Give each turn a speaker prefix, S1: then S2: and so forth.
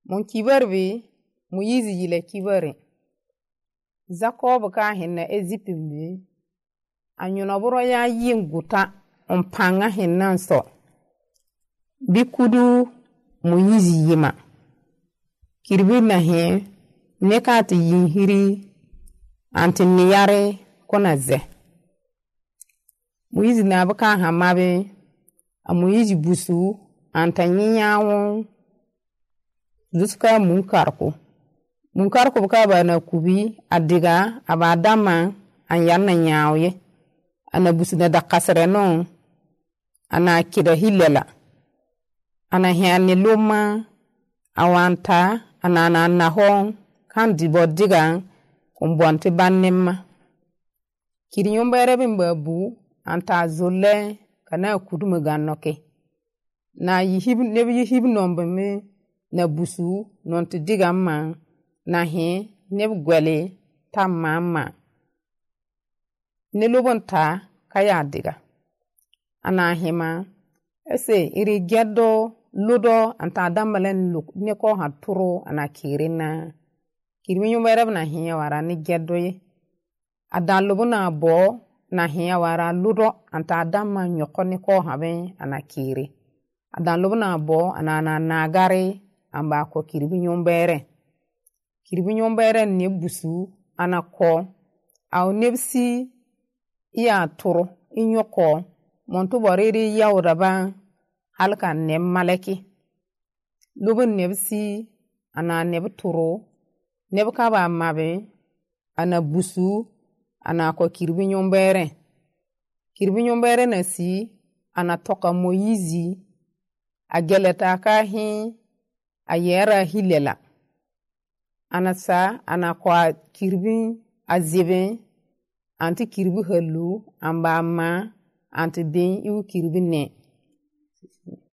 S1: mon kibarbi mu yizi yile kibare Jacob ka hinna ezipimbi anyuna buro ya yinguta panga hinnan so bikudu mu yizi yima kirbi na he nekati yinhiri anti niyare kona ze mu yizi na baka hamabe amu yizi busu anta nyinyawon zuska munkarko baka bana kubi adiga abadama anyanna nyawye ana busina da kasre non ana kida hilela ana hiani luma awanta ana nahon kan dibodiga kumbonti bannemma kiri yombere bimbabu anta zolle kana kudumu gannoke na yihib nombe me na busu nonti digamma na he neb gwele tamama ne lobonta kaya diga ana hima ese iri geddo ludo anta damalen luk ne ko haturo ana kirina kirmi nyumere na hiya wara ni geddo ye adan lobuna bo na hiya wara ludo anta damma nyoko ne ko habe ana kiri adan lobuna bo ana nagare amba ko kirbi nyombere ne busu ana ko aw nebsi iya turu inyoko montu boriri yawraba halka ne malaki lubun nebsi ana neb turu neb kaba mabe ana busu ana ko kirbi nyombere na si ana toka moyizi ageleta ka hi ayera hilela anasa ana kwa kirbi azibe anti kirbi halu amba ma anti den iu kirbi ne